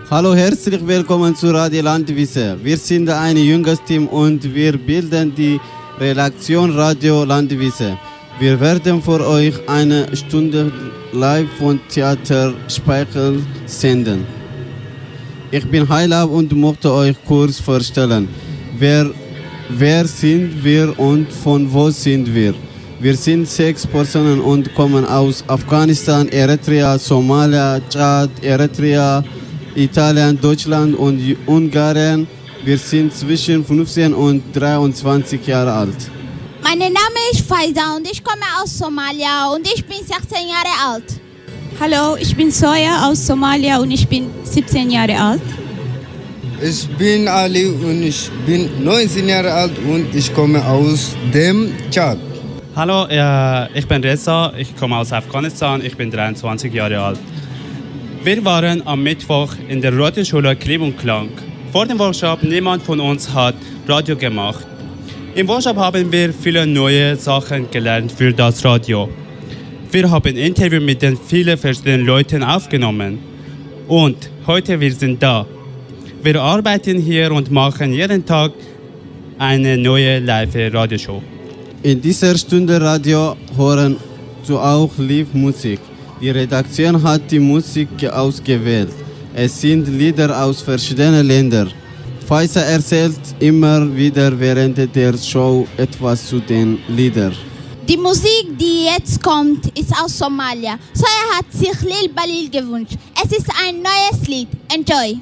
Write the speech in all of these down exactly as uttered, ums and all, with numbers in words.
Hallo, herzlich willkommen zu Radio Landwiese. Wir sind ein junges Team und wir bilden die Redaktion Radio Landwiese. Wir werden für euch eine Stunde live von Theater Speichel senden. Ich bin Heilab und möchte euch kurz vorstellen. Wer, wer sind wir und von wo sind wir? Wir sind sechs Personen und kommen aus Afghanistan, Eritrea, Somalia, Tschad, Eritrea, Italien, Deutschland und Ungarn. Wir sind zwischen fünfzehn und dreiundzwanzig Jahre alt. Mein Name ist Faiza und ich komme aus Somalia und ich bin sechzehn Jahre alt. Hallo, ich bin Soja aus Somalia und ich bin siebzehn Jahre alt. Ich bin Ali und ich bin neunzehn Jahre alt und ich komme aus dem Tschad. Hallo, äh, ich bin Reza, ich komme aus Afghanistan, ich bin dreiundzwanzig Jahre alt. Wir waren am Mittwoch in der Radioschule Klipp und Klang. Vor dem Workshop, niemand von uns hat Radio gemacht. Im Workshop haben wir viele neue Sachen gelernt für das Radio. Wir haben Interviews mit den vielen verschiedenen Leuten aufgenommen. Und heute wir sind da. Wir arbeiten hier und machen jeden Tag eine neue Live-Radioshow. In dieser Stunde Radio hören du auch Live-Musik. Die Redaktion hat die Musik ausgewählt. Es sind Lieder aus verschiedenen Ländern. Faiza erzählt immer wieder während der Show etwas zu den Liedern. Die Musik, die jetzt kommt, ist aus Somalia. Soja hat sich Lil Balil gewünscht. Es ist ein neues Lied. Enjoy!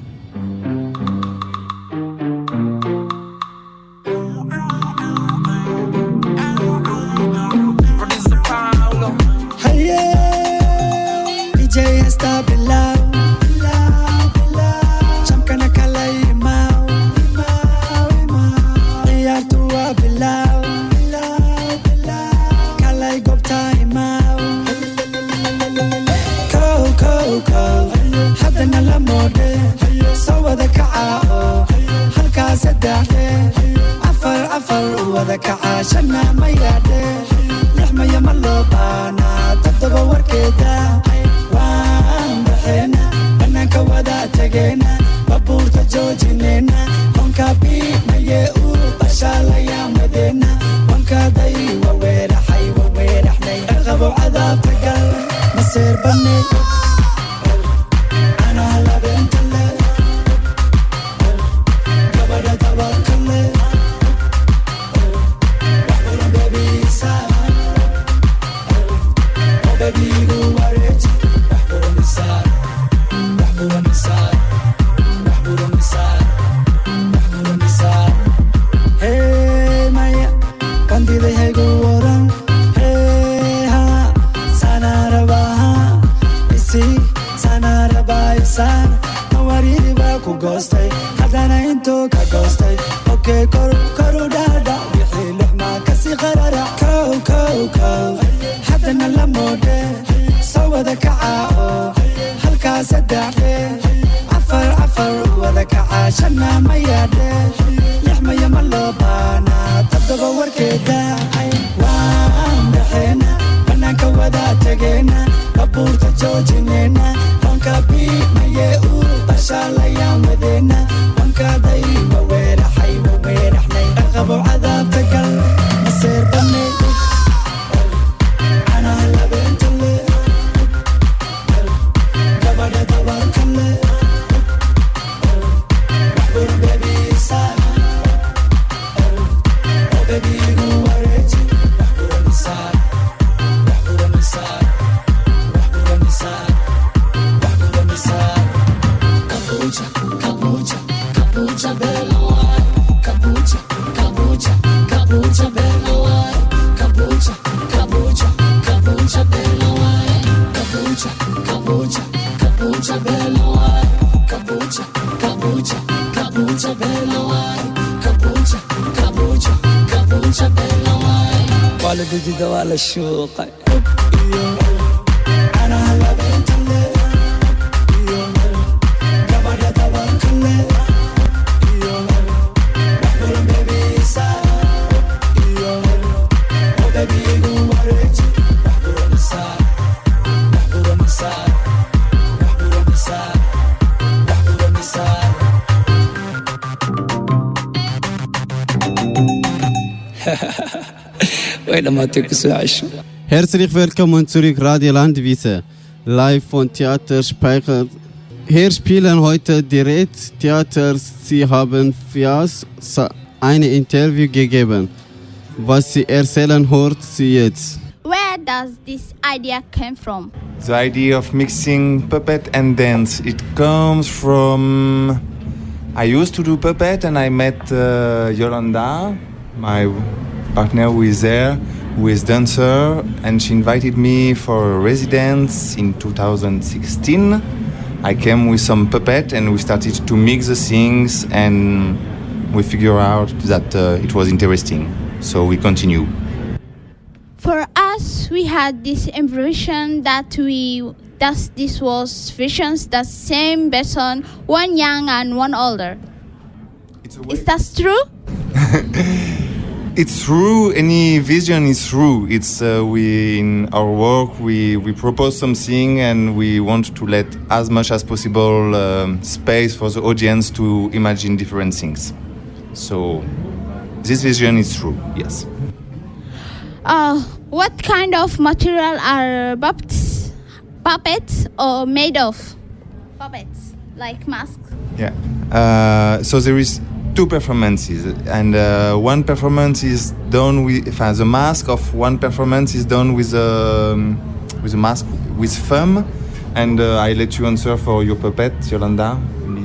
عفر عفر وذاك عاشنا ما يادي لحمة يا ملوبانا تبدأ وركدا وان بحينا بناك ودا تجينا بابور تجوجينينا هونكا بي ما يقو بشالا يا مدينة وانكا داي وويرا حي وويرا حني ارغب وعذاب تقل مصير بني أنا هلا بنت الليل قبل توكل Ghosty, hadana into ka ghosty. Okay, koru koru dada, wixii lixma kasi qarara. Kow kow kow, hadana la mode, soo wada kaca halkaa saddexe. Afar afar wada kaca shana ma yaadhe, lixma yama loo baana toddoba warkeeda. Waan dhaxeena, banaanka wada tageena, baabuurta joojineyna, honka bii maye u bashaala yaan wadeena. Wanka day waweera xay waweera xnay aqabo cadaabta gal maseer banay ana hala beentale gabadha dabarkale waxbur baby saama oh baby igu wareeji waxbura misaar waxbura misaar waxbura misaar waxbura misaar kabuja kabuja kabuja bella wai kabuja kabuja kabuja bella wai kabuja kabuja kabuja bella wai kabuja kabuja kabuja bella wai kabuja kabuja kabuja bella wai kabuja kabuja kabuja bella wai والدتي دوال الشوق انا هلا بنت الليل قبل توكل Herzlich willkommen zurück, Radio Landwiese, live von Theater Speicher. Hier spielen heute direkt Theater. Sie haben Fias ein Interview gegeben. Was sie erzählen, hört sie jetzt. Where does this idea come from? The idea of mixing puppet and dance, it comes from... I used to do puppet and I met uh, Yolanda, my partner who is there, who is dancer, and she invited me for a residence in two thousand sixteen. I came with some puppet and we started to mix the things and we figured out that uh, it was interesting. So we continue. For us, we had this impression that we that this was visions the same person, one young and one older. It's Is that true? It's true. Any vision is true. It's uh, we in our work we we propose something and we want to let as much as possible um, space for the audience to imagine different things. So this vision is true. Yes. Uh, what kind of material are puppets, puppets or made of? Puppets, like masks. Yeah. Uh, so there is two performances, and uh, one performance is done with uh, the mask of one performance is done with a um, with a mask with foam, and uh, I let you answer for your puppet, Yolanda.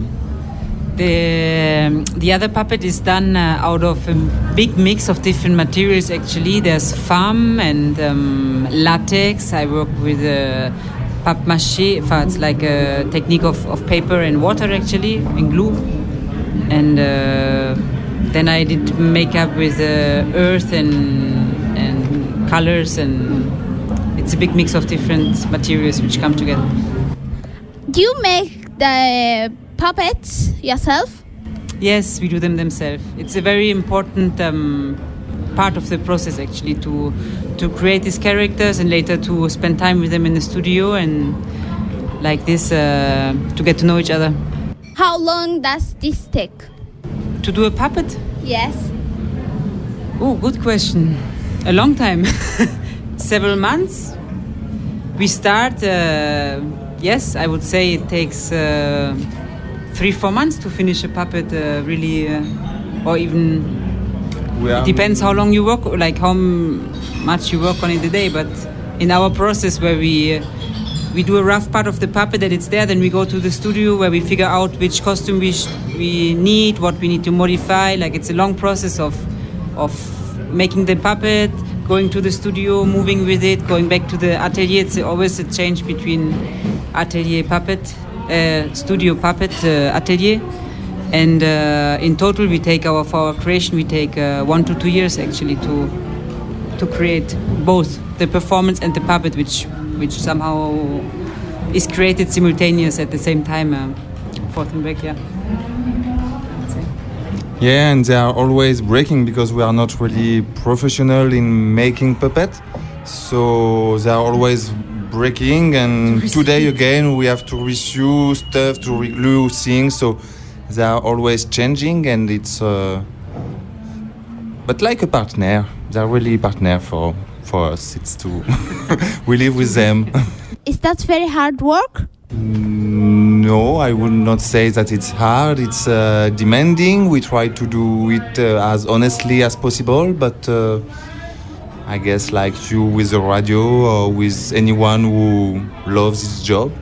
The, um, the other puppet is done uh, out of a big mix of different materials. Actually, there's foam and um, latex. I work with uh, papier-mâché. It's like a technique of, of paper and water, actually, and glue. And uh, then I did makeup with uh, earth and and colors, and it's a big mix of different materials which come together. Do you make the puppets yourself? Yes, we do them themselves. It's a very important um, part of the process, actually, to to create these characters and later to spend time with them in the studio and like this uh, to get to know each other. How long does this take? To do a puppet? Yes. Oh, good question. A long time. Several months. We start, uh, yes, I would say it takes uh, three, four months to finish a puppet, uh, really, uh, or even, it depends how long you work, like how much you work on in the day, but in our process where we uh, we do a rough part of the puppet that it's there, then we go to the studio where we figure out which costume we sh- we need, what we need to modify. Like it's a long process of of making the puppet, going to the studio, moving with it, going back to the atelier. It's always a change between atelier puppet, uh, studio puppet, uh, atelier. And uh, in total, we take our for our creation, we take uh, one to two years actually to to create both the performance and the puppet, which which somehow is created simultaneous at the same time, uh, forth and back, yeah. Yeah, and they are always breaking because we are not really professional in making puppet, so they are always breaking. And today again, we have to resew stuff, to reglue things. So they are always changing, and it's. Uh, but like a partner, they are really a partner for. For us, it's too. We live with them. Is that very hard work? No, I would not say that it's hard. It's uh, demanding. We try to do it uh, as honestly as possible, but uh, I guess like you with the radio or with anyone who loves his job.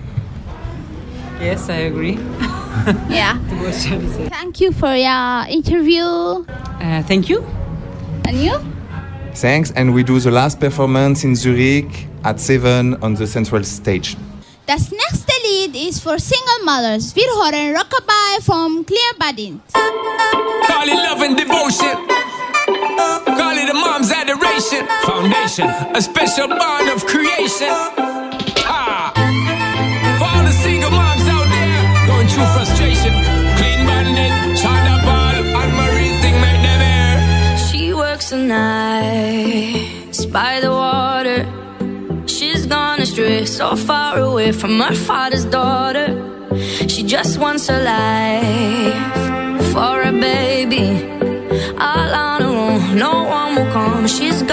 Yes, I agree. Yeah. Thank you for your interview. Uh, thank you. And you? Thanks, and we do the last performance in Zurich at seven on the central stage. Das nächste Lied ist für Single Mothers. Wir hören Rockabye vom Clear Badin. Call it love and devotion. Call it a mom's adoration. Foundation, a special bond of creation. Ah. For all the single moms out there going through frustration. Clean Bandit, China Ball, and Marie thing make them air. She works the nights by the water. She's gone astray, so far away from her father's daughter. She just wants a life for a baby, all on her own, no one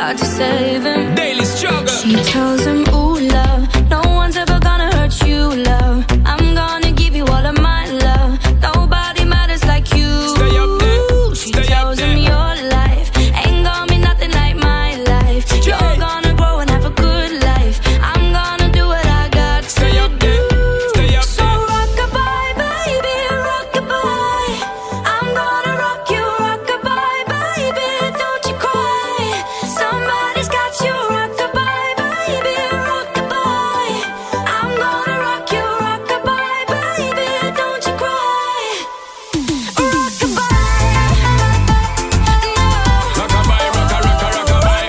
tried to save him. Daily struggle. She tells him, ooh, love, no one's ever gonna hurt you, love. I'm gonna give you all of my love. Nobody matters like you. Stay up there. Ooh, she Stay tells up him there. your life ain't gonna be nothing like my life. You're gonna grow and have a good life. I'm gonna do what I got to Stay up there. Stay up So there. rock-a-bye, baby, rock-a-bye. I'm gonna rock you, rock-a-bye, baby, don't you cry. Somebody's got you, rock-a-bye, baby, rock-a-bye. I'm gonna rock you, rock-a-bye, baby, don't you cry. Rock-a-bye, Rock-a-bye, rocka, rocka, rock-a-bye.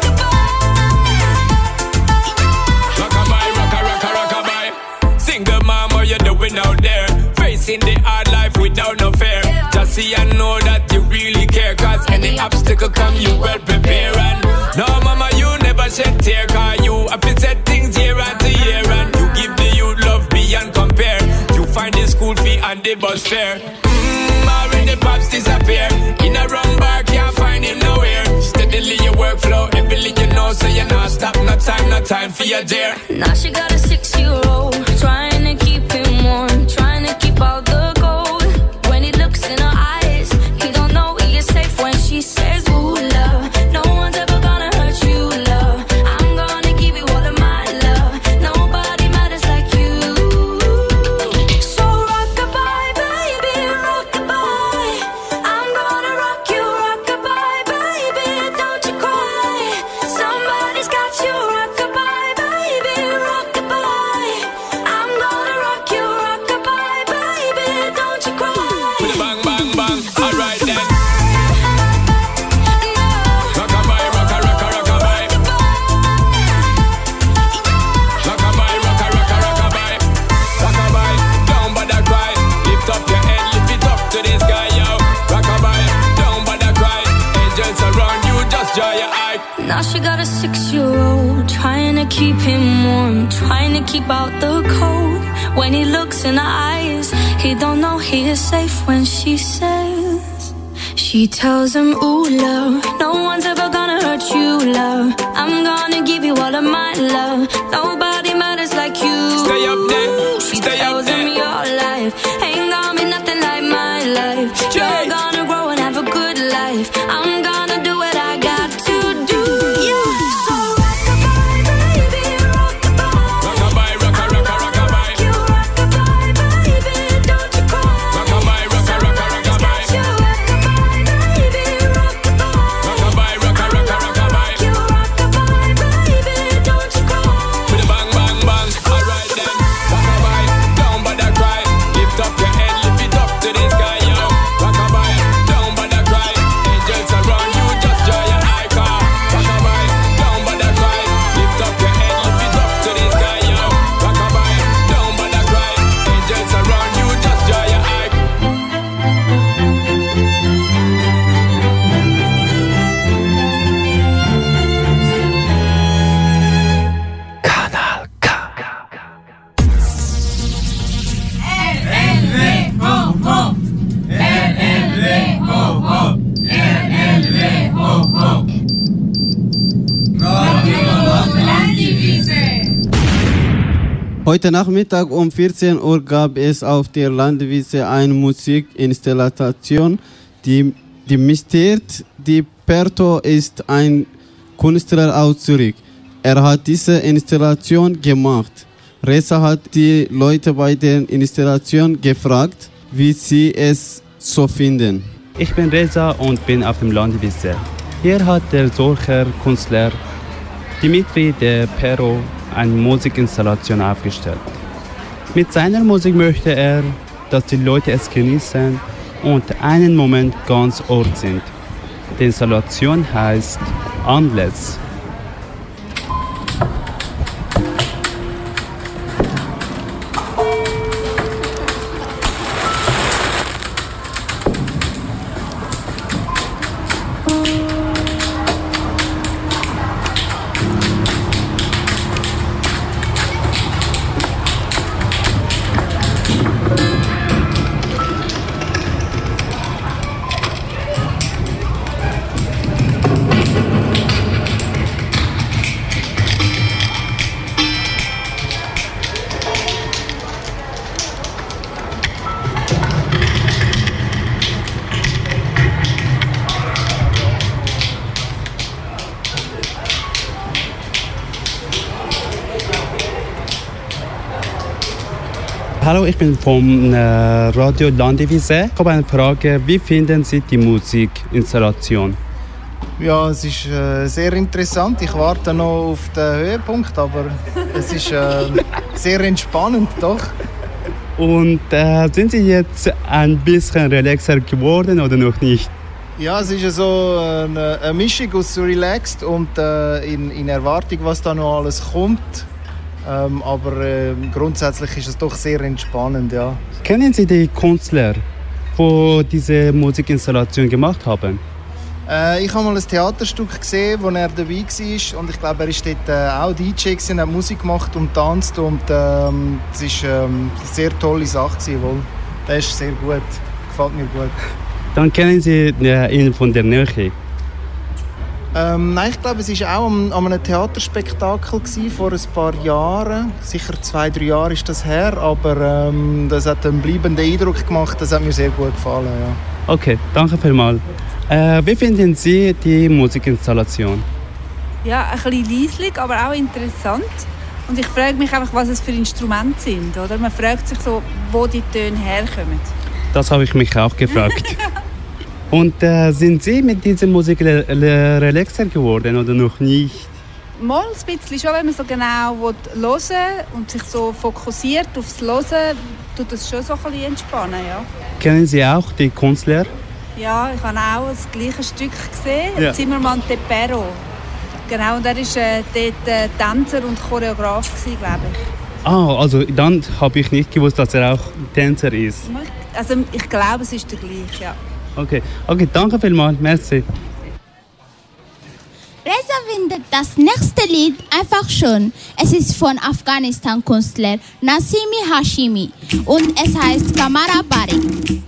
Rock-a-bye, rocka, rocka, rock-a-bye. Single mom, what you doing out there? Facing the hard life without no fear. Just see and know that you really care. Cause any obstacle come, you well prepare. And no, mama, you never shed tear. Cause you have to set things year after year. And you give the youth love beyond compare. You find the school fee and the bus fare. Mmm, already pops disappear. In a wrong bar, can't find him nowhere. Steadily your workflow, everything you know. So you not stop, no time, no time for your dear. now she got a six-year-old, trying to keep him warm, trying to keep out the cold. When he looks in her eyes, he don't know he is safe when she says, ooh, love, no one's ever gonna hurt you, love. I'm gonna give you all of my love. Nobody matters like you. So rock-a-bye, baby, rock-a-bye. I'm gonna rock you, rock-a-bye, baby, don't you cry. Somebody's got you, rock-a-bye, baby, rock-a-bye. I'm gonna rock you, rock-a-bye, baby, don't you cry. With a bang, bang, bang. Alright then. Rock-a-bye, rocka, rocka, rock-a-bye. Rock-a-bye, rocka, rocka, rock-a-bye. Rock-a-bye, don't bother cry. Lift up your head, lift it up to the sky, yo. Rock-a-bye, don't bother cry. Angels around you, just dry your eye. Now she got a six-year-old, trying to keep him warm, trying to keep out the cold. When he looks in her eyes, he don't know he is safe when she says. She tells him, ooh, love, no one's ever gonna hurt you, love. I'm gonna give you all of my love. Nobody matters like you. Stay up there. She Stay up tells him there. your life ain't gonna be nothing like my life. You're gonna grow and have a good life. I'm gonna do what I got to do. So rock-a-bye, baby, rock-a-bye. Rock-a-bye, rocka, rocka, rock-a-bye. You rock-a-bye, baby, don't you cry. Rock-a-bye, rocka, rocka, rock-a-bye. You rock-a-bye, baby, rock-a-bye. Rock-a-bye, rocka, rocka, rock-a-bye. You rock-a-bye, baby, don't you cry. With a bang, bang, bang. Alright then. Rock-a-bye, don't bother cry. Lift up your head, lift it up to the sky, yo. Rock-a-bye, don't bother cry. Angels around you, just dry your eye, car. Rock-a-bye, don't bother cry. Lift up your head, lift it up to the sky, yo. Rock-a-bye, don't bother cry. Angels around you, just dry your eye. Heute Nachmittag um vierzehn Uhr gab es auf der Landwiese eine Musikinstallation, die, die Mistert Di Perto ist ein Künstler aus Zürich. Er hat diese Installation gemacht. Reza hat die Leute bei der Installation gefragt, wie sie es so finden. Ich bin Reza und bin auf dem Landwiese. Hier hat der solcher Künstler Dimitri Di Perto eine Musikinstallation aufgestellt. Mit seiner Musik möchte er, dass die Leute es genießen und einen Moment ganz Ort sind. Die Installation heißt Endless. Hallo, ich bin vom äh, Radio Landivise. Ich habe eine Frage. Wie finden Sie die Musikinstallation? Ja, es ist äh, sehr interessant. Ich warte noch auf den Höhepunkt, aber es ist äh, sehr entspannend, doch. Und äh, sind Sie jetzt ein bisschen relaxer geworden oder noch nicht? Ja, es ist ja so eine, eine Mischung aus so relaxed und äh, in, in Erwartung, was da noch alles kommt. Ähm, aber äh, grundsätzlich ist es doch sehr entspannend, ja. Kennen Sie die Künstler, die diese Musikinstallation gemacht haben? Äh, ich habe mal ein Theaterstück gesehen, wo er dabei war. Und ich glaube, er war dort äh, auch D J gewesen, hat Musik gemacht und tanzt. Und ähm, es war ähm, eine sehr tolle Sache gewesen, wohl. Der ist sehr gut, gefällt mir gut. Dann kennen Sie ihn von der Nähe? Ähm, nein, ich glaube, es war auch an, an einem Theaterspektakel gewesen, vor ein paar Jahren. Sicher zwei, drei Jahre ist das her, aber ähm, das hat einen bleibenden Eindruck gemacht. Das hat mir sehr gut gefallen, ja. Okay, danke vielmals. Äh, wie finden Sie die Musikinstallation? Ja, ein bisschen leislich, aber auch interessant. Und ich frage mich einfach, was es für Instrumente sind. Oder? Man fragt sich so, wo die Töne herkommen. Das habe ich mich auch gefragt. Und äh, sind Sie mit dieser Musik re- re- relaxer geworden oder noch nicht? Mal ein bisschen schon, wenn man so genau hören will und sich so fokussiert aufs Hören, tut das schon so ein bisschen entspannen, ja. Kennen Sie auch die Künstler? Ja, ich habe auch das gleiche Stück gesehen, Ja. Zimmermann Tepero. Genau, und er war äh, dort äh, Tänzer und Choreograf, glaube ich. Ah, also dann habe ich nicht gewusst, dass er auch Tänzer ist. Also ich glaube, es ist der gleiche, ja. Okay, okay, danke vielmals, merci. Reza findet das nächste Lied einfach schön. Es ist von Afghanistan-Künstler Nasimi Hashimi und es heißt Kamara Barik.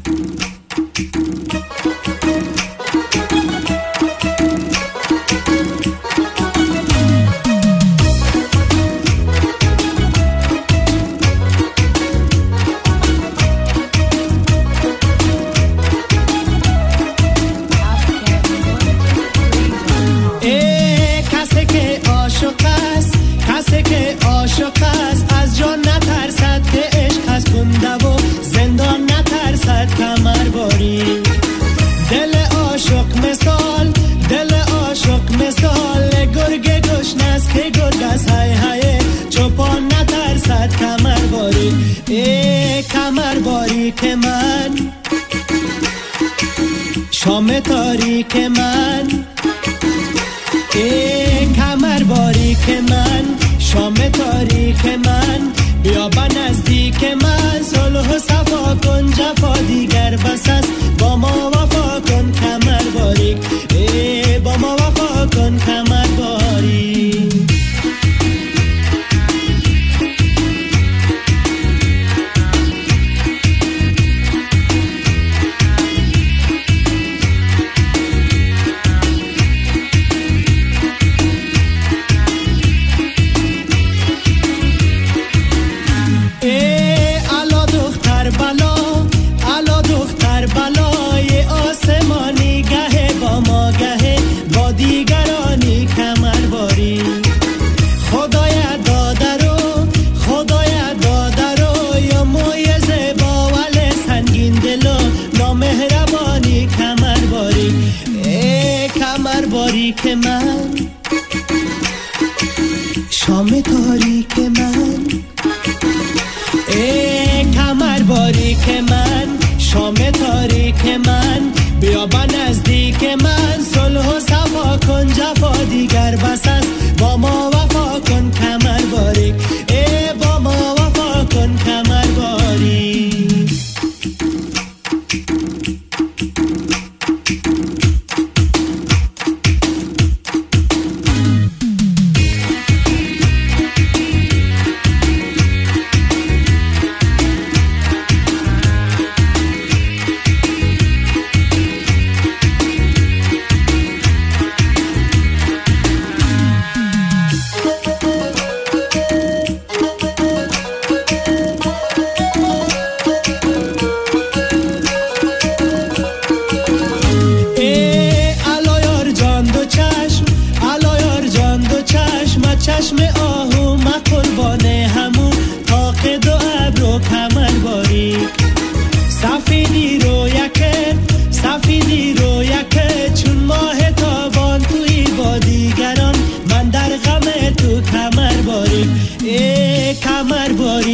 کسی که عاشق است از جان نترسد که عشق از کنده و زندان نترسد کمر باری دل عاشق مثال دل عاشق مثال گرگ گشنه است که گرگ از های های چوپان نترسد کمر باری ای کمر باری که من شام تاریک من ای کمر باری که من شام تاریک من بیا با نزدیک من صلح و صفا کن جفا دیگر بس است با ما وفا کن کمر باریک ای با ما وفا کن کمر باریک که من شام تاریک من ای کمر باریک من شام تاریک من بیا با نزدیک من صلح و صفا کن جفا دیگر بس است با ما وفا کن کمر باریک ای با ما وفا کن کمر باریک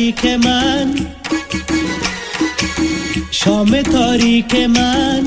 تاریک من شام تاریک من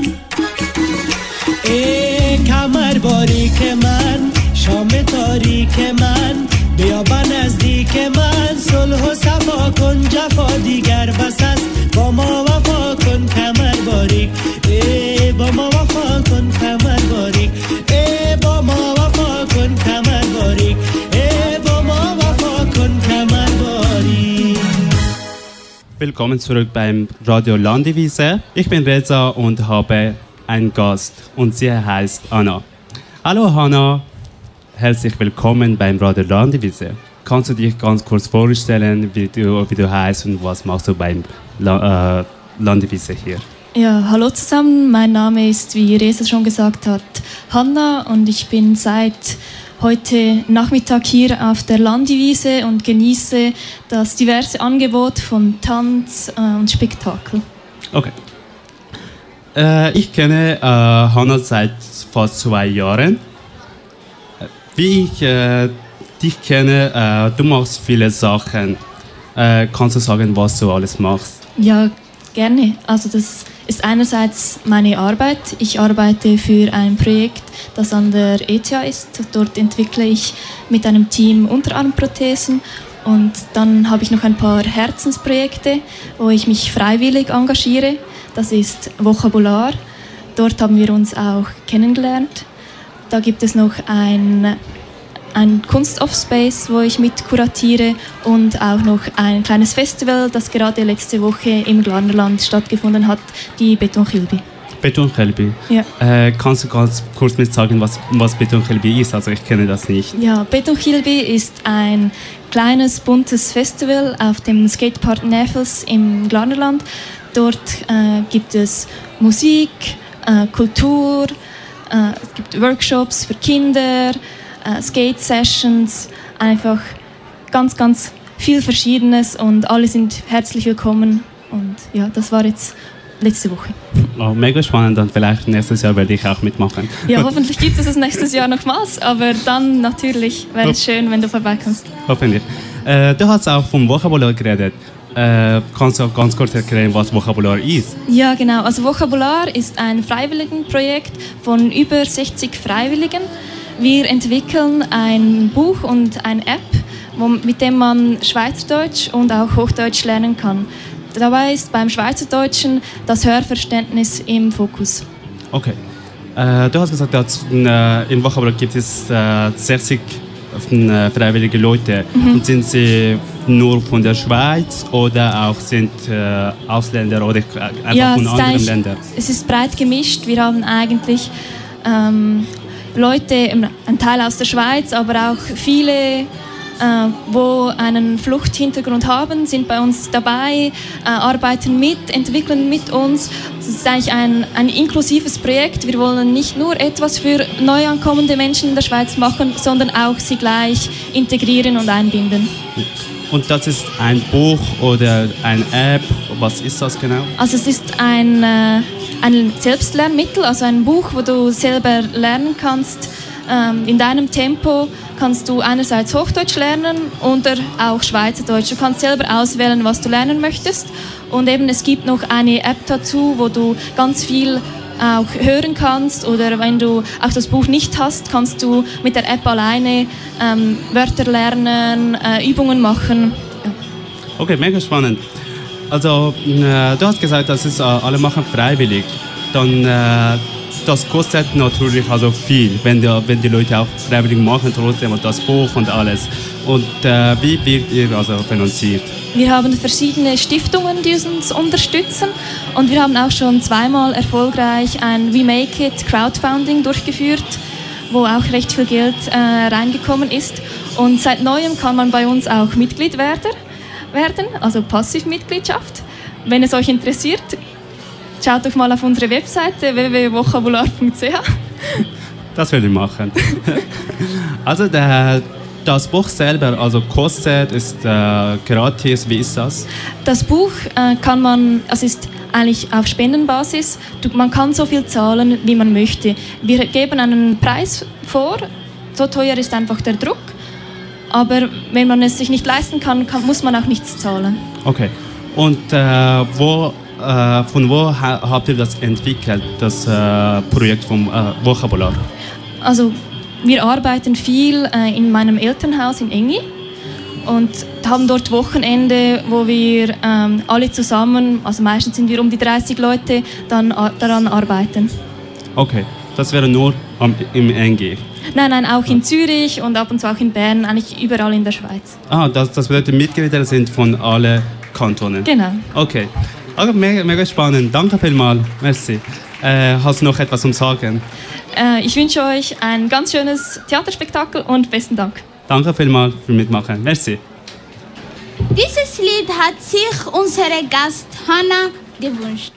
ای کمر باریک من شام تاریک من بیا با نزدیک من صلح و صفا کن جفا دیگر بس است با ما وفا کن کمر باریک ای با ما وفا کن کمر باریک ای با ما وفا کن کمر باریک ای با ما وفا کن کمر باریک. Willkommen zurück beim Radio Landivise. Ich bin Reza und habe einen Gast und sie heißt Anna. Hallo Hanna, herzlich willkommen beim Radio Landivise. Kannst du dich ganz kurz vorstellen, wie du, wie du heißt und was machst du beim La, äh, Landivise hier? Ja, hallo zusammen, mein Name ist, wie Reza schon gesagt hat, Hanna und ich bin seit heute Nachmittag hier auf der Landivise und genieße das diverse Angebot von Tanz äh, und Spektakel. Okay. Äh, ich kenne äh, Hanna seit fast zwei Jahren. Wie ich äh, dich kenne, äh, du machst viele Sachen. Äh, kannst du sagen, was du alles machst? Ja, gerne. Also das ist einerseits meine Arbeit. Ich arbeite für ein Projekt, das an der E T H ist. Dort entwickle ich mit einem Team Unterarmprothesen. Und dann habe ich noch ein paar Herzensprojekte, wo ich mich freiwillig engagiere. Das ist Vokabular. Dort haben wir uns auch kennengelernt. Da gibt es noch ein, ein Kunst-Off-Space, wo ich mit kuratiere und auch noch ein kleines Festival, das gerade letzte Woche im Glarnerland stattgefunden hat, die Betonkilbi. Betonkilbi? Ja. Äh, kannst du ganz kurz mit sagen, was, was Betonkilbi ist? Also ich kenne das nicht. Ja, Betonkilbi ist ein kleines, buntes Festival auf dem Skatepark Näfels im Glarnerland. Dort äh, gibt es Musik, äh, Kultur, äh, es gibt Workshops für Kinder, äh, Skate-Sessions, einfach ganz, ganz viel Verschiedenes und alle sind herzlich willkommen. Und ja, das war jetzt letzte Woche. Oh, mega spannend und vielleicht nächstes Jahr werde ich auch mitmachen. Ja, hoffentlich gibt es es nächstes Jahr nochmals, aber dann natürlich wäre es schön, wenn du vorbeikommst. Hoffentlich. Äh, du hast auch vom Vokabular geredet. Äh, kannst du auch ganz kurz erklären, was Vokabular ist? Ja, genau. Also Vokabular ist ein Freiwilligenprojekt von über sechzig Freiwilligen. Wir entwickeln ein Buch und eine App, wo, mit dem man Schweizerdeutsch und auch Hochdeutsch lernen kann. Dabei ist beim Schweizerdeutschen das Hörverständnis im Fokus. Okay. Äh, du hast gesagt, dass äh, im Vokabular gibt es äh, sechzig äh, freiwillige Leute. Mhm. Und sind sie nur von der Schweiz oder auch sind äh, Ausländer oder einfach ja, von anderen Ländern? Es ist breit gemischt. Wir haben eigentlich ähm, Leute, ein Teil aus der Schweiz, aber auch viele, äh, wo einen Fluchthintergrund haben, sind bei uns dabei, äh, arbeiten mit, entwickeln mit uns. Es ist eigentlich ein, ein inklusives Projekt. Wir wollen nicht nur etwas für neu ankommende Menschen in der Schweiz machen, sondern auch sie gleich integrieren und einbinden. Und das ist ein Buch oder eine App? Was ist das genau? Also es ist ein, äh, ein Selbstlernmittel, also ein Buch, wo du selber lernen kannst. Ähm, in deinem Tempo kannst du einerseits Hochdeutsch lernen oder auch Schweizerdeutsch. Du kannst selber auswählen, was du lernen möchtest. Und eben es gibt noch eine App dazu, wo du ganz viel auch hören kannst, oder wenn du auch das Buch nicht hast, kannst du mit der App alleine ähm, Wörter lernen, äh, Übungen machen. Ja. Okay, mega spannend. Also äh, du hast gesagt, das ist äh, alle machen freiwillig. Dann äh, das kostet natürlich also viel, wenn die, wenn die Leute auch freiwillig machen, trotzdem und das Buch und alles. Und äh, wie wird ihr also finanziert? Wir haben verschiedene Stiftungen, die uns unterstützen, und wir haben auch schon zweimal erfolgreich ein We Make It Crowdfunding durchgeführt, wo auch recht viel Geld äh, reingekommen ist. Und seit Neuem kann man bei uns auch Mitglied werden, werden also Passivmitgliedschaft. Wenn es euch interessiert, schaut doch mal auf unsere Webseite w w w punkt vokabular punkt c h. Das werde ich machen. Also der, das Buch selber, also kostet, ist äh, gratis, wie ist das? Das Buch äh, kann man, also ist eigentlich auf Spendenbasis. Du, man kann so viel zahlen, wie man möchte. Wir geben einen Preis vor, so teuer ist einfach der Druck. Aber wenn man es sich nicht leisten kann, kann muss man auch nichts zahlen. Okay. Und äh, wo, äh, von wo ha habt ihr das entwickelt, das äh, Projekt vom äh, Vokabular? Also wir arbeiten viel äh, in meinem Elternhaus in Engi und haben dort Wochenende, wo wir ähm, alle zusammen, also meistens sind wir um die dreißig Leute, dann a daran arbeiten. Okay, das wäre nur am, im Engi? Nein, nein, auch in Zürich und ab und zu auch in Bern, eigentlich überall in der Schweiz. Ah, das, das bedeutet, Mitglieder sind von allen Kantonen? Genau. Okay, also mega, mega spannend. Danke vielmals, merci. Äh, hast du noch etwas zum Sagen? Äh, ich wünsche euch ein ganz schönes Theaterspektakel und besten Dank. Danke vielmals für Mitmachen. Merci. Dieses Lied hat sich unsere Gast Hannah gewünscht.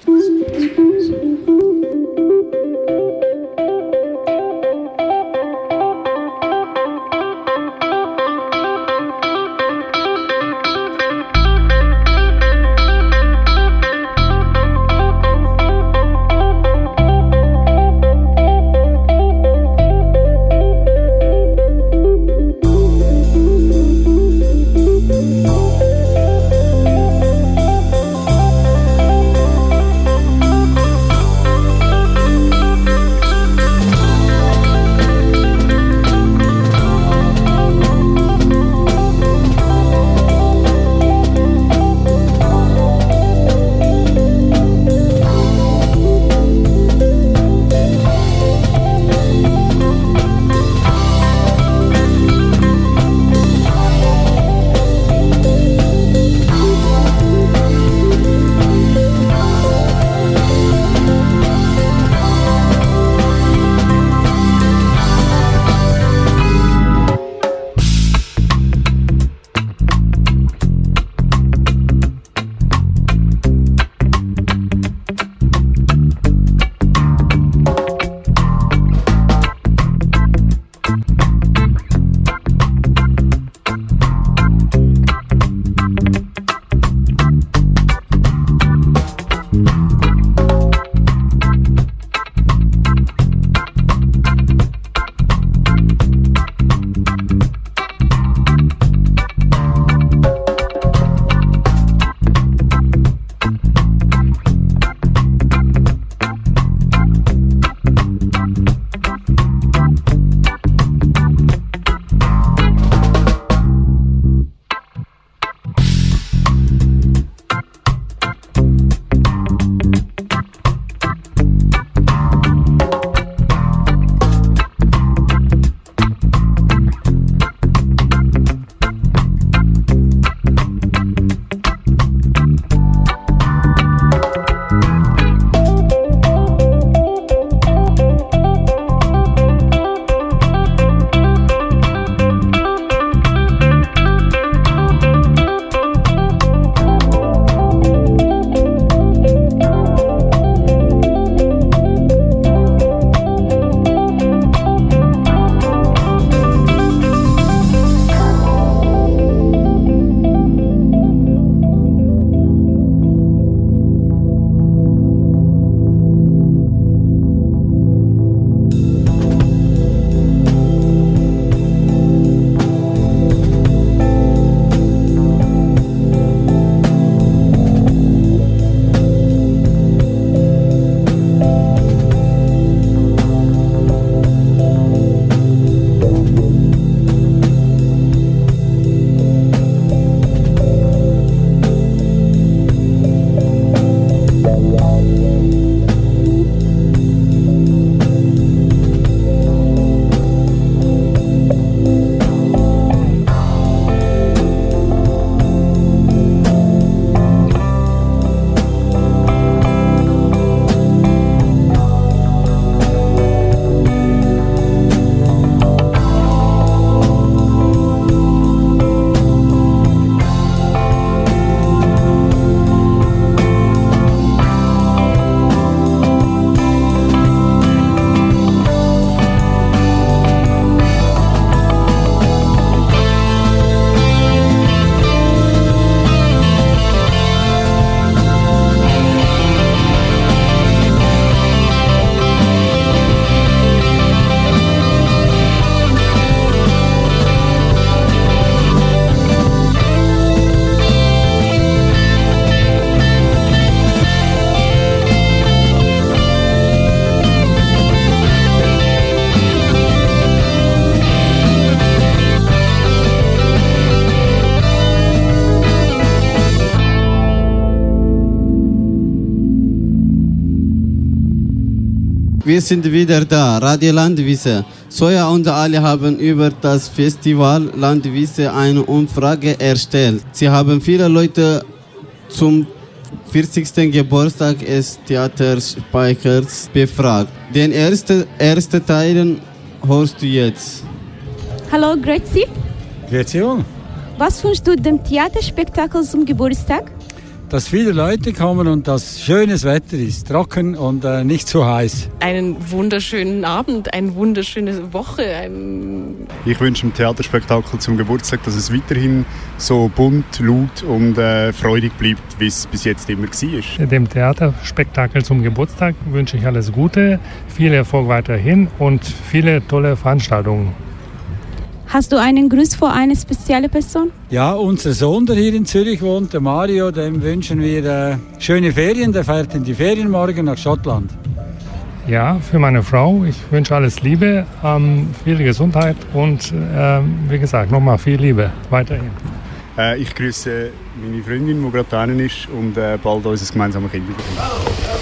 wir sind wieder da, Radio Landwiese. Soja und Ali haben über das Festival Landwiese eine Umfrage erstellt. Sie haben viele Leute zum vierzigsten Geburtstag des Theaterspeichers befragt. Den ersten erste Teil hörst du jetzt. Hallo, grüezi. Grüezi wohl. Was wünschst du dem Theaterspektakel zum Geburtstag? Dass viele Leute kommen und dass schönes Wetter ist, trocken und äh, nicht zu heiß. Einen wunderschönen Abend, eine wunderschöne Woche. Ein ich wünsche dem Theaterspektakel zum Geburtstag, dass es weiterhin so bunt, laut und äh, freudig bleibt, wie es bis jetzt immer war. Dem Theaterspektakel zum Geburtstag wünsche ich alles Gute, viel Erfolg weiterhin und viele tolle Veranstaltungen. Hast du einen Gruß für eine spezielle Person? Ja, unser Sohn, der hier in Zürich wohnt, der Mario, dem wünschen wir äh, schöne Ferien. Der fährt in die Ferien morgen nach Schottland. Ja, für meine Frau, ich wünsche alles Liebe, ähm, viel Gesundheit und äh, wie gesagt, nochmal viel Liebe weiterhin. Äh, ich grüße meine Freundin, die gerade da ist und äh, bald unser gemeinsames Kind bekommen.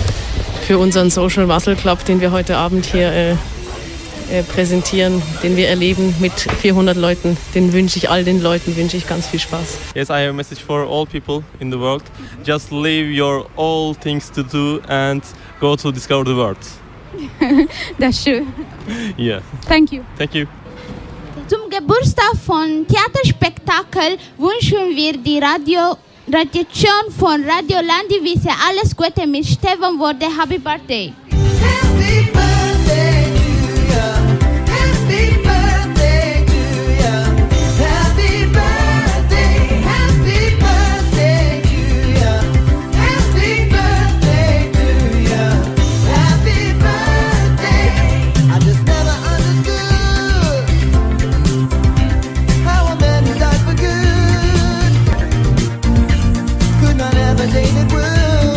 Für unseren Social Muscle Club, den wir heute Abend hier äh, äh, präsentieren, den wir erleben mit vierhundert Leuten, den wünsche ich all den Leuten wünsche ich ganz viel Spaß. Yes, I have a message for all people in the world. Just leave your all things to do and go to discover the world. Das ist schön. Yeah. Thank you. Thank you. Zum Geburtstag von Theaterspektakel wünschen wir die Radio Radiation von Radio Landwiese alles Gute mit Stefan Worde. Happy Birthday! Happy birthday to you. Happy birthday to you. Happy birthday, happy birthday to you. Happy birthday to you. Happy birthday. I just never understood how a man who died for good could not ever David Wood.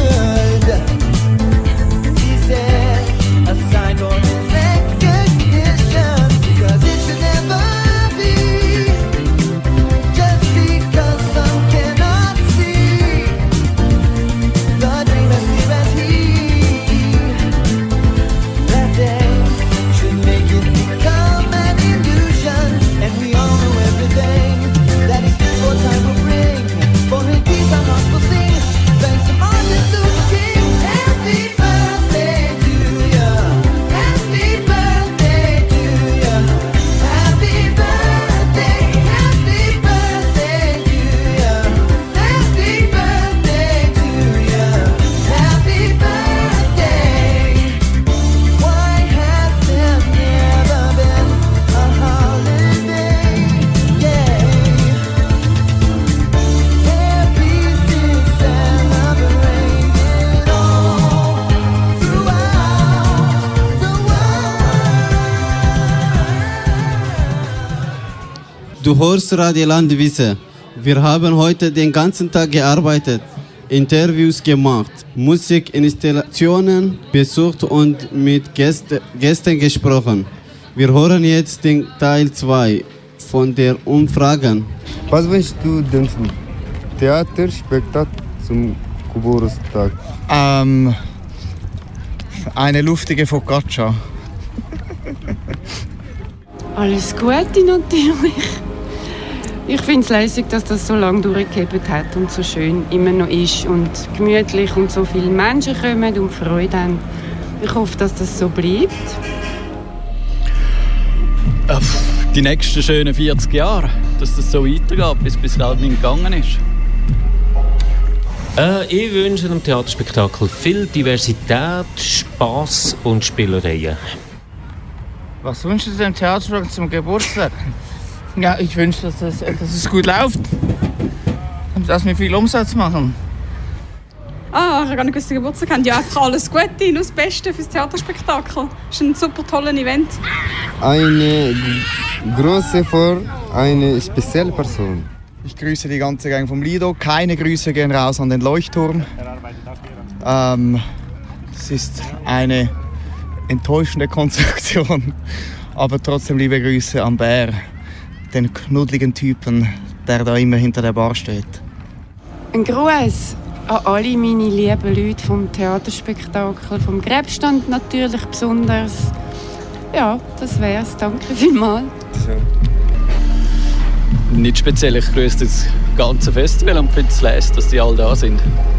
He said a sign for his recognition, because it should never be just because some cannot see the dream as clear as he. That day should make it become an illusion, and we all know everything that is for time will bring. For his peace our hearts will sing. Thanks to Martin Luther King. Happy birthday to you. Happy birthday to you. Happy birthday. Happy birthday to you. Happy birthday to you. Happy birthday. Why has there never been a holiday? Yeah. Du hörst Radio Landwiese. Wir haben heute den ganzen Tag gearbeitet, Interviews gemacht, Musikinstallationen besucht und mit Gäste, Gästen gesprochen. Wir hören jetzt den Teil zwei von der Umfrage. Was wünschst du dem Theaterspektakel zum Geburtstag? Ähm, eine luftige Focaccia. Alles Gute natürlich. Ich finde es lässig, dass das so lange durchgehalten hat und so schön immer noch ist und gemütlich und so viele Menschen kommen und Freude haben. Ich hoffe, dass das so bleibt. Die nächsten schönen vierzig Jahre, dass das so weitergeht, bis es bis gerade nicht gegangen ist. Äh, ich wünsche dem Theaterspektakel viel Diversität, Spass und Spielereien. Was wünschst du dem Theaterspektakel zum Geburtstag? Ja, ich wünsche, dass es, dass es gut läuft und dass wir viel Umsatz machen. Ah, ich habe gar nicht gewusst, dass Geburtstag haben. Ja, einfach alles Gute, nur das Beste fürs Theaterspektakel. Das ist ein super tolles Event. Eine große vor eine spezielle Person. Ich grüße die ganze Gang vom Lido. Keine Grüße gehen raus an den Leuchtturm. Ähm, es ist eine enttäuschende Konstruktion, aber trotzdem liebe Grüße an Bär, den knuddeligen Typen, der da immer hinter der Bar steht. Ein Gruß an alle meine lieben Leute vom Theaterspektakel, vom Gräbstand natürlich besonders. Ja, das wär's. Danke vielmals. Nicht speziell, ich grüße das ganze Festival und finde es leise, dass die alle da sind.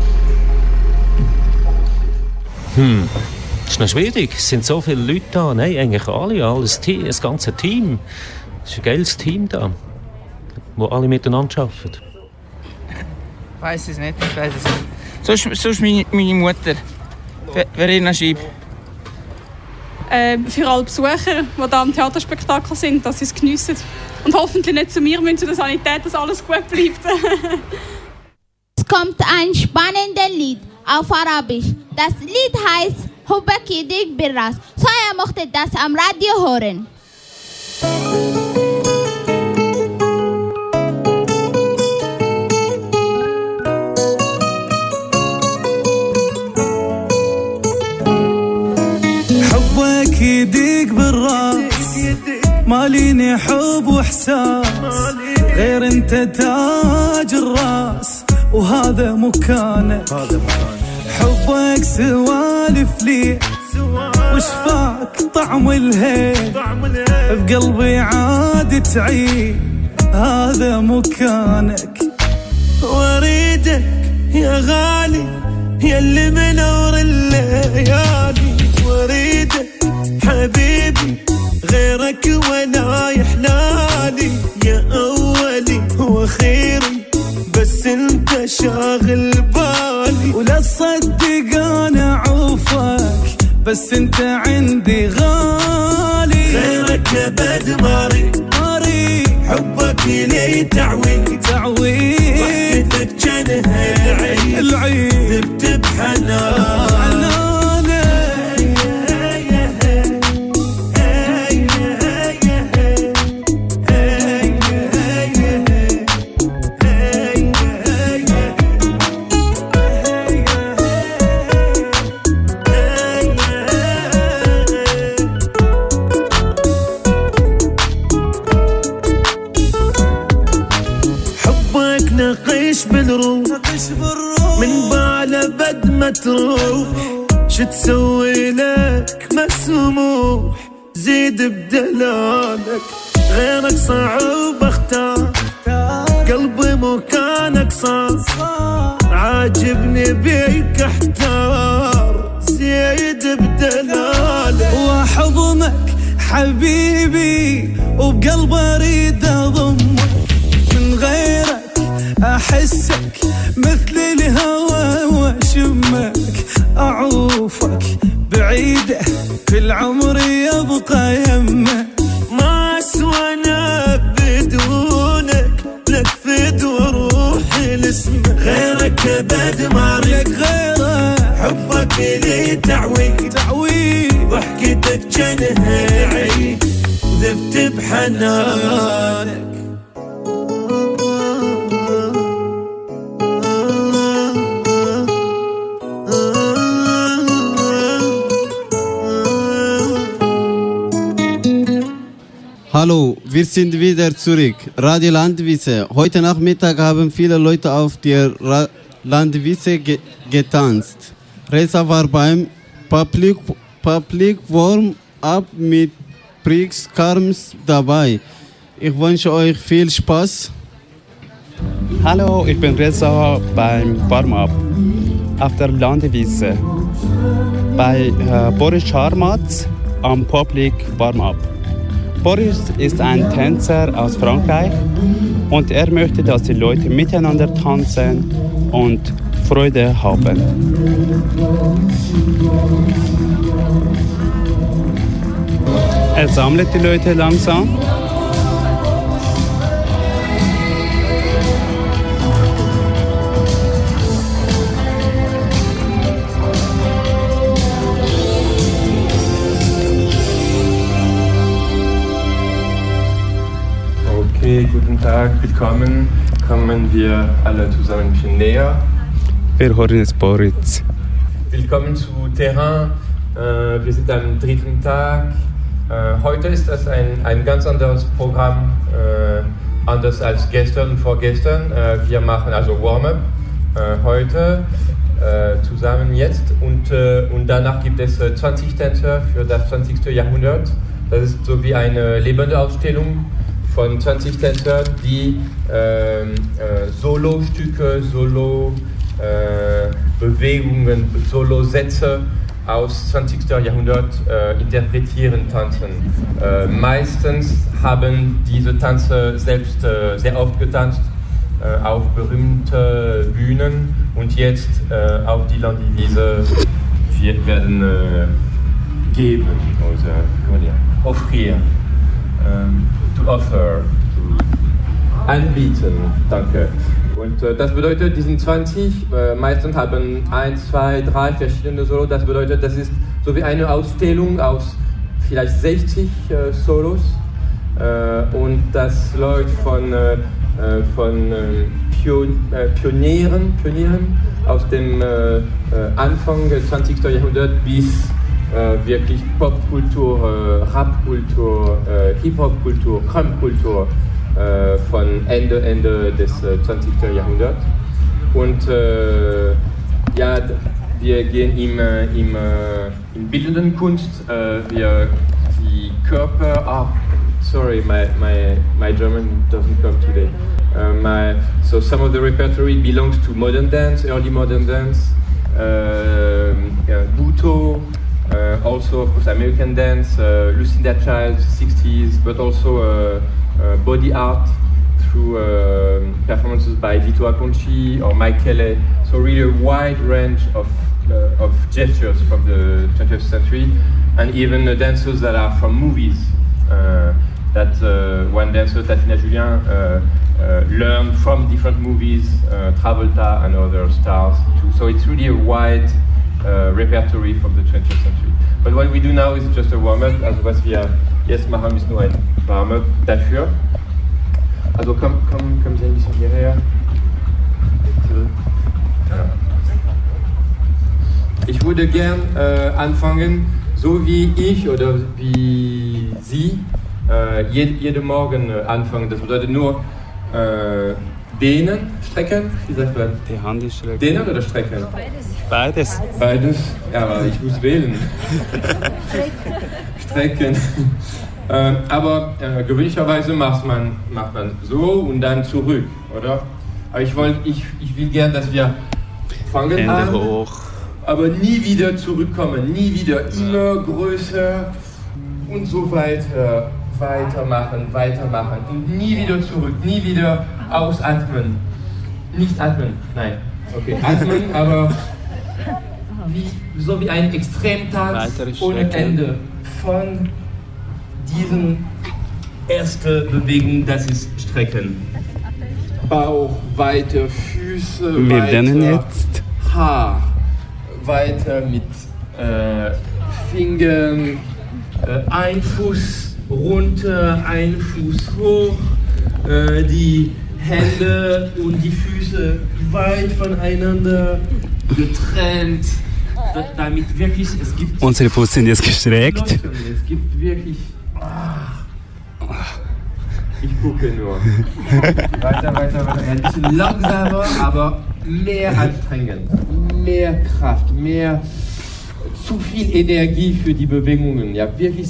Hm, das ist noch schwierig. Es sind so viele Leute da. Nein, eigentlich alle, alles Team, das ganze Team. Es ist ein geiles Team da, wo alle miteinander arbeiten. Ich weiss es nicht, ich weiss es nicht. Sonst, sonst meine, meine Mutter, Verena Schieb. Äh, für alle Besucher, die hier am Theaterspektakel sind, dass sie es geniessen. Und hoffentlich nicht zu mir müssen, zu der Sanität, dass alles gut bleibt. Es kommt ein spannendes Lied auf Arabisch. Das Lied heißt Hubaki Dik Birras. Soja mochte das am Radio hören. حبك يديك بالراس ماليني حب واحساس غير انت تاج الراس وهذا مكانك حبك سوالف لي وشفاك طعم الهيل بقلبي عاد تعيد هذا مكانك واريدك يا غالي يا اللي منور الليالي واريدك حبيبي غيرك ولا يحلالي يا أولي وخيري بس انت شاغل بالي ولا تصدق انا عوفك بس انت عندي غالي غيرك ابد ماري ماري حبك لي تعوي تعوي ضحكتك جنها العيد العيد ذبت بحنان من بعد بد ما تروح شو تسوي لك مسموح زيد بدلالك غيرك صعب اختار قلبي مكانك صار عاجبني بيك احتار زيد بدلالك واحضنك حبيبي وبقلبي اريد اضمك من غيرك أحسك مثل الهوى وأشمك أعوفك بعيدة في العمر يبقى يمك ما أسوانا بدونك لك فد وروحي لاسمك غيرك أبد ما لك غيره حبك لي تعوي تعوي ضحكتك جنها عيد ذبت بحنانك Hallo, wir sind wieder zurück. Radio Landwiese. Heute Nachmittag haben viele Leute auf der Ra- Landwiese ge- getanzt. Reza war beim Public, Public Warm-Up mit Prix Karms dabei. Ich wünsche euch viel Spaß. Hallo, ich bin Reza beim Warm-Up auf der Landwiese bei äh, Boris Charmatz am Public Warm-Up. Boris ist ein Tänzer aus Frankreich und er möchte, dass die Leute miteinander tanzen und Freude haben. Er sammelt die Leute langsam. Okay, guten Tag, willkommen. Kommen wir alle zusammen ein bisschen näher. Wir hören jetzt Boris. Willkommen zu Terrain. Äh, wir sind am dritten Tag. Äh, heute ist das ein, ein ganz anderes Programm, äh, anders als gestern und vorgestern. Äh, wir machen also Warm-up äh, heute äh, zusammen jetzt und, äh, und danach gibt es äh, zwanzig Tänzer für das zwanzigste Jahrhundert. Das ist so wie eine lebende Ausstellung von zwanzig Tänzern, die äh, äh, Solo-Stücke, Solo-Bewegungen, äh, Solo-Sätze aus zwanzigsten Jahrhundert äh, interpretieren, tanzen. Äh, meistens haben diese Tänze selbst äh, sehr oft getanzt äh, auf berühmte Bühnen und jetzt äh, auf die Landivise werden äh, geben oder offrir, ähm, to offer, to anbieten, danke. Und äh, das bedeutet, diesen zwanzig, äh, meistens haben eins, zwei, drei verschiedene Solos. Das bedeutet, das ist so wie eine Ausstellung aus vielleicht sechzig äh, Solos. Äh, und das läuft von, äh, von äh, Pion äh, Pionieren, Pionieren aus dem äh, äh, Anfang des zwanzigsten Jahrhunderts bis äh, wirklich Popkultur, äh, Rapkultur, äh, Hip-Hop-Kultur, Crump-Kultur. Äh, von Ende, Ende des äh, zwanzigsten Jahrhunderts. Und äh, ja, wir gehen im, äh, im, äh, in bildenden Kunst, äh, wir die Körper, ah, sorry, my, my, my German doesn't come today. Uh, my, so some of the repertory belongs to modern dance, early modern dance, uh, uh, Buto, uh, also of course American dance, uh, Lucinda Childs, sixties, but also uh, Uh, body art through uh, performances by Vito Acconci or Mike Kelly. So really a wide range of, uh, of gestures from the twentieth century, and even uh, dancers that are from movies. Uh, that uh, one dancer, Tatina Julien, uh, uh, learned from different movies, uh, Travolta and other stars too. So it's really a wide uh, repertory from the twentieth century. But what we do now is just a warm-up, also was wir jetzt machen, ist nur ein Warm-up dafür. Also komm, komm, komm Sie ein bisschen hierher. Ja. Ich würde gern äh, anfangen, so wie ich oder wie Sie äh, jeden jede Morgen äh, anfangen. Das bedeutet nur äh, dehnen, strecken. Wie sagt man? Die Hand ist strecken. Dehnen oder strecken? Beides. Beides? Ja, aber ich muss wählen. Strecken. äh, aber äh, gewöhnlicherweise macht man, macht man so und dann zurück, oder? Aber ich, wollt, ich, ich will gern, dass wir fangen Hände an, hoch. aber nie wieder zurückkommen, nie wieder, immer größer und so weiter, weitermachen, weitermachen und nie wieder zurück, nie wieder ausatmen. Nicht atmen, nein, okay, atmen, aber wie, so wie ein Extremtanz ohne Ende von diesen ersten Bewegungen, das ist Strecken. Bauch, weiter, Füße, Wir weiter, jetzt. Haar, weiter mit äh, Fingern, äh, ein Fuß runter, ein Fuß hoch, äh, die Hände und die Füße weit voneinander getrennt, damit wirklich, es gibt... Unsere Füße sind jetzt gestreckt. Es gibt wirklich... Ach, ich gucke nur. Weiter, weiter, weiter. Ein bisschen langsamer, aber mehr anstrengend. Mehr Kraft, mehr... Zu viel Energie für die Bewegungen. Ja, wirklich...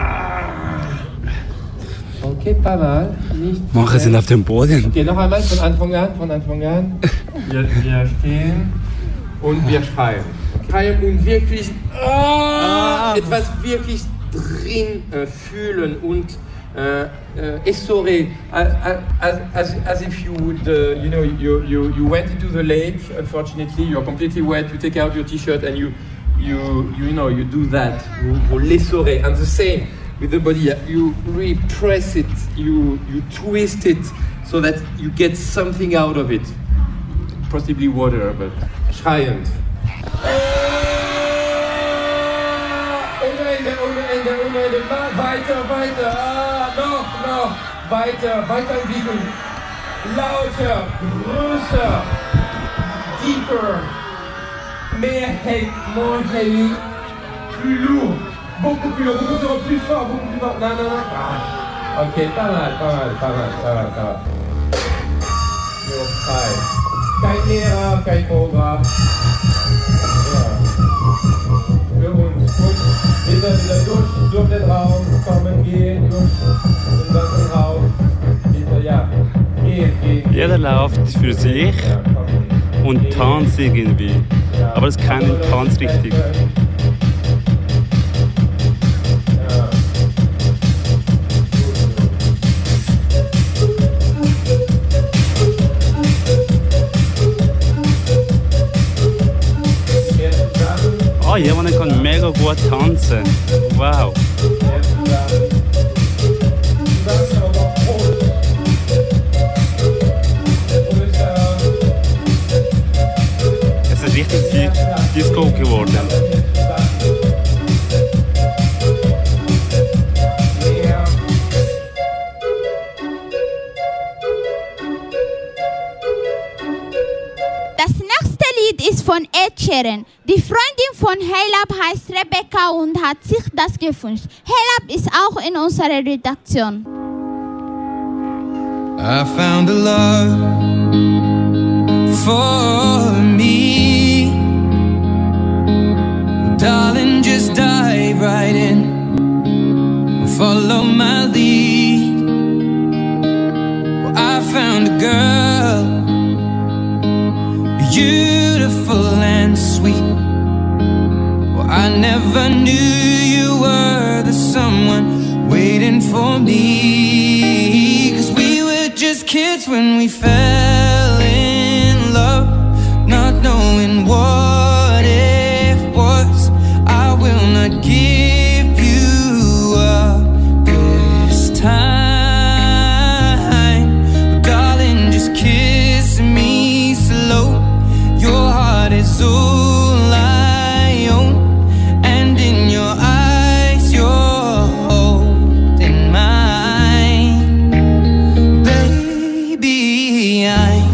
Okay, paar Mal. Nicht Manche sind auf dem Boden. Okay, noch einmal von Anfang an, von Anfang an. Wir, wir stehen und wir schreien. Schreien und wirklich ah, etwas wirklich drin äh, fühlen und äh, äh, essorer, as, as, as, as if you would, uh, you know, you, you, you went into the lake, unfortunately, you're completely wet, you take out your t-shirt and you, you, you know, you do that, vous, vous l'essorez, and the same with the body, you repress it, you, you twist it so that you get something out of it, possibly water, but schreiend. Ohne Ende, ohne Ende, ohne Ende, weiter, weiter, ah, noch, noch, weiter, weiter entwickeln, lauter, größer, deeper, mehr heavy, more heavy, plus lourd, beaucoup plus lourd, beaucoup plus fort, beaucoup plus fort, non, non, non, ah. Ok, pas mal, pas mal, pas mal, pas mal, pas mal. You're high. kein Lehrer, kein Programm. Ja. Für uns. Und wir sind wieder durch, durch den Raum, kommen, gehen, durch den ganzen Raum. Wieder, ja, gehen, gehen. Jeder läuft für sich und tanzt irgendwie. Aber es ist kein Tanz richtig. Oh, jemand kann mega gut tanzen. Wow. Es ist richtig die Disco geworden. Das nächste Lied ist von Ed Sheeran. Die Freundin von Heylab heißt Rebecca und hat sich das gewünscht. Heylab ist auch in unserer Redaktion. I found a love for me. Darling, just dive right in. Follow my lead. Well, I found a girl, beautiful and sweet. Well, I never knew you were the someone waiting for me. 'Cause we were just kids when we fell in love, not knowing what it was. I will not give you up this time. But darling, just kiss me slow. Your heart is all I own, and in your eyes you're holding mine. Baby, I'm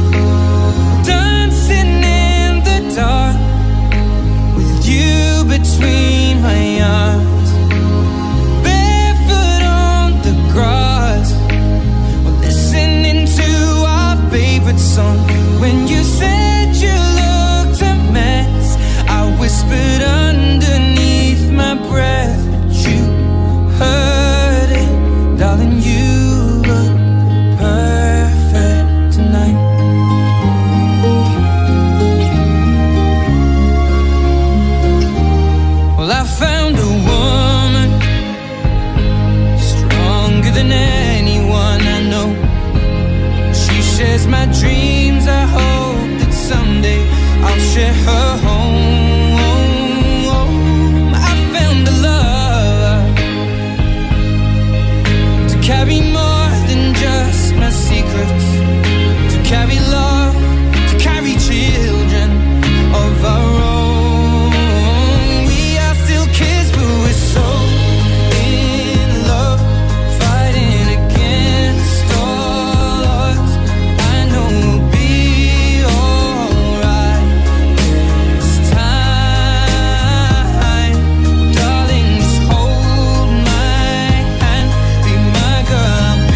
dancing in the dark with you between my arms, barefoot on the grass, listening to our favorite song. When you said you looked a mess, I whispered underneath my breath, but you heard it. Darling, you look perfect tonight. Well, I found a woman stronger than anyone I know. She shares my dreams. I hope that someday I'll share her home. I found a love to carry more than just my secrets, to carry love, to carry children of our own. We are still kids, but we're so in love, fighting against all odds. I know we'll be alright this time. Darling, just hold my hand, be my girl, I'll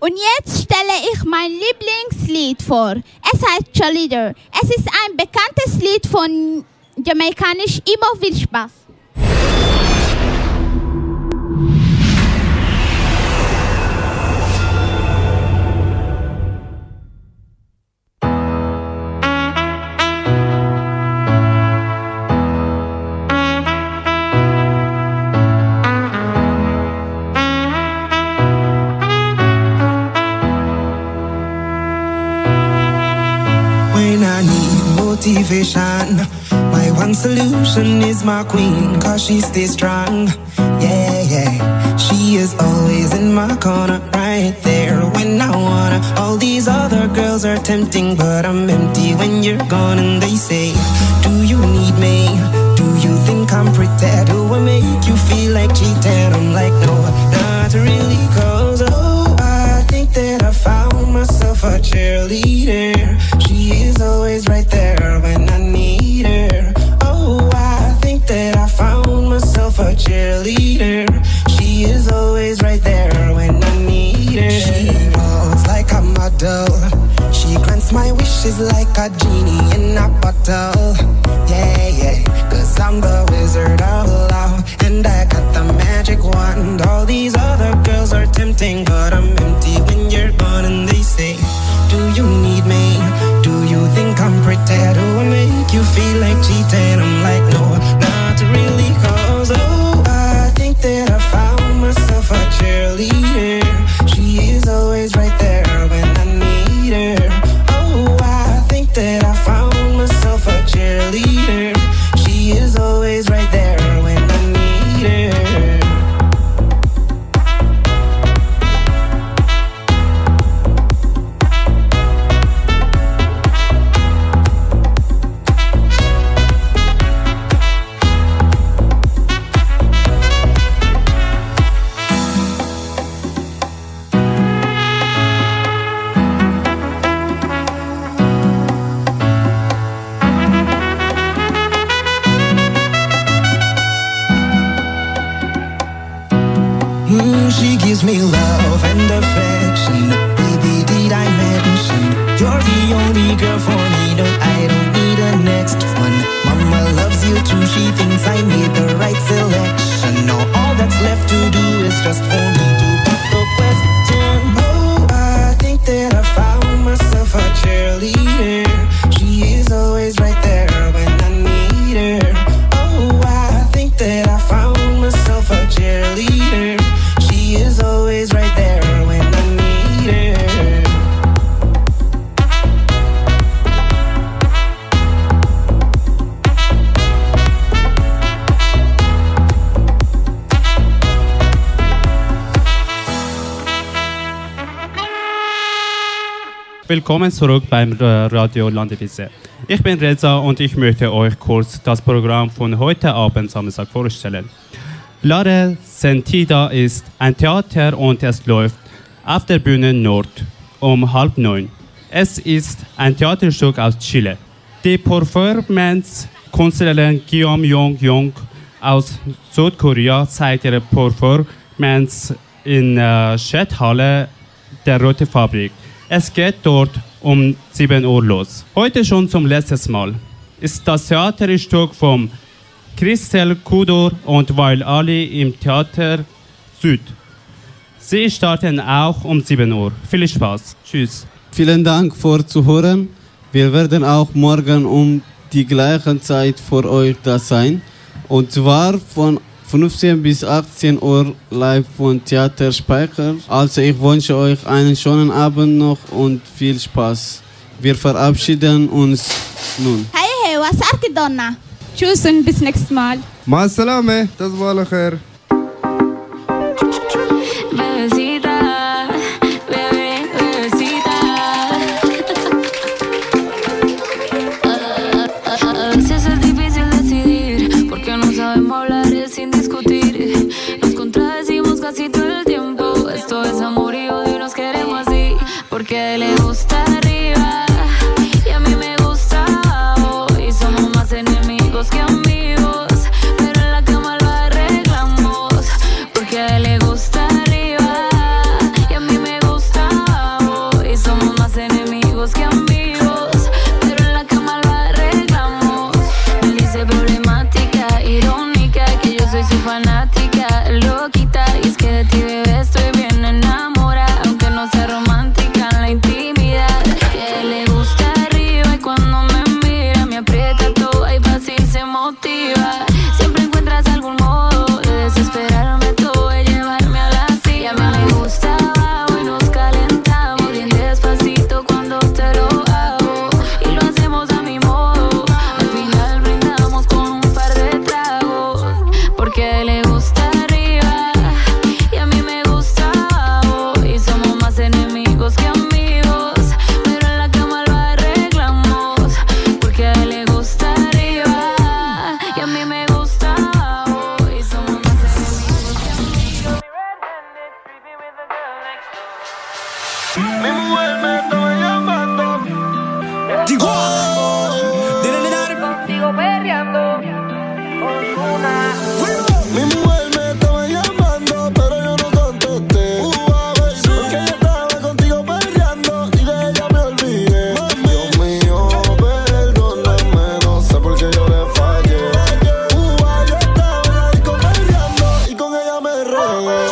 Und jetzt stelle ich mein Lieblingslied vor. Es heißt Cheerleader. Es ist ein bekanntes Lied von jamaikanisch Immer viel Spaß. Motivation. My one solution is my queen, cause she stays strong. Yeah, yeah. She is always in my corner, right there when I wanna. All these other girls are tempting, but I'm empty when you're gone. And they say, do you need me? Do you think I'm pretty? Do I make you feel like cheating? I'm like, no, not really, cause oh, I think that I found myself a cheerleader. She is always right there when I need her. Oh, I think that I found myself a cheerleader. She is always right there when I need her. She walks like a model. She grants my wishes like a genie in a bottle. Yeah, yeah, cause I'm the wizard of love, and I got the magic wand. All these other girls are tempting, but I'm empty when you're gone. And they say, do you need me? Do you think I'm pretty? Do I make you feel like cheating? I'm like, no, not really, cause oh, I think that I found myself a cheerleader. She is always right there when I need her. Oh, I think that I found myself a cheerleader. She is always right there when I need her. Mm, she gives me love and affection. Baby, did I mention you're the only girl for me? No, I don't need a next one. Mama loves you too. She thinks I made the right selection. Now all that's left to do is just for me to put the question. Oh, I think that I found myself a cheerleader. She is always right there when I need her. Oh, I think that I found myself a cheerleader. She is always right there when I need her. Willkommen zurück beim Radio Landewisse. Ich bin Reza und ich möchte euch kurz das Programm von heute Abend Samstag vorstellen. Lara Sentida ist ein Theater und es läuft auf der Bühne Nord um halb neun. Es ist ein Theaterstück aus Chile. Die Performance-Künstlerin Guillaume Jong Jong aus Südkorea zeigt ihre Performance in der Chathalle der Rote Fabrik. Es geht dort um sieben Uhr los. Heute schon zum letzten Mal ist das Theaterstück vom Christel Kudor und Weil Ali im Theater Süd. Sie starten auch um sieben Uhr. Viel Spaß. Tschüss. Vielen Dank für Zuhören. Wir werden auch morgen um die gleiche Zeit für euch da sein. Und zwar von fünfzehn bis achtzehn Uhr live von Theater Speicher. Also ich wünsche euch einen schönen Abend noch und viel Spaß. Wir verabschieden uns nun. Hey, hey, was sagt ihr, Donna? Tschüss und bis nächstes Mal. Ma salame, das war lecher. Casi todo el tiempo, esto es amor y odio y nos queremos así, porque a él le gusta arriba y a mí me gusta abajo y somos más enemigos que amigos, pero en la cama lo arreglamos. Mi mujer me estaba llamando. Digo, contigo perreando. Ozuna. Mi mujer me estaba llamando, pero yo no contesté. Porque ella estaba contigo perreando y de ella me olvidé. Dios mío, perdóname, no sé por qué yo le fallé. Yo estaba en la disco perreando y con ella me regué.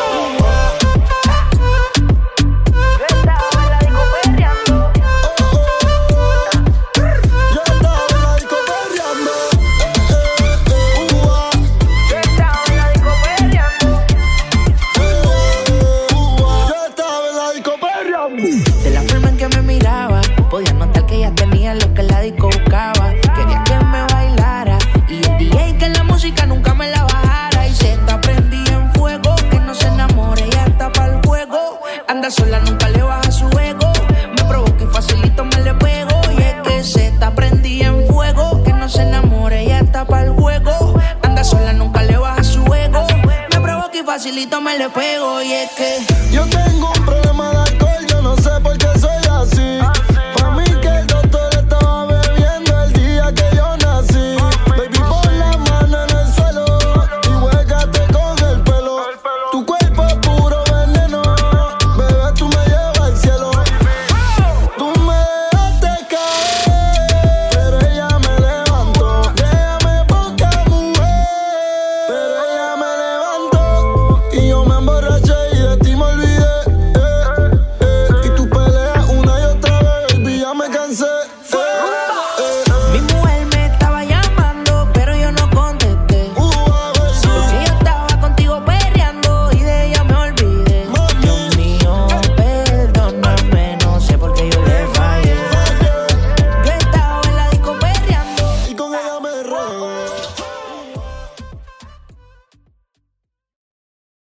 De la forma en que me miraba, podía notar que ella tenía lo que la disco buscaba. Quería que me bailara y el D J que la música nunca me la bajara. Y se está prendida en fuego, que no se enamore, ella está pa'l juego. Anda sola, nunca le baja su ego. Me provoca y facilito me le pego. Y es que se está prendida en fuego, que no se enamore, ella está pa'l juego. Anda sola, nunca le baja su ego. Me provoca y facilito me le pego. Y es que yo tengo un problema.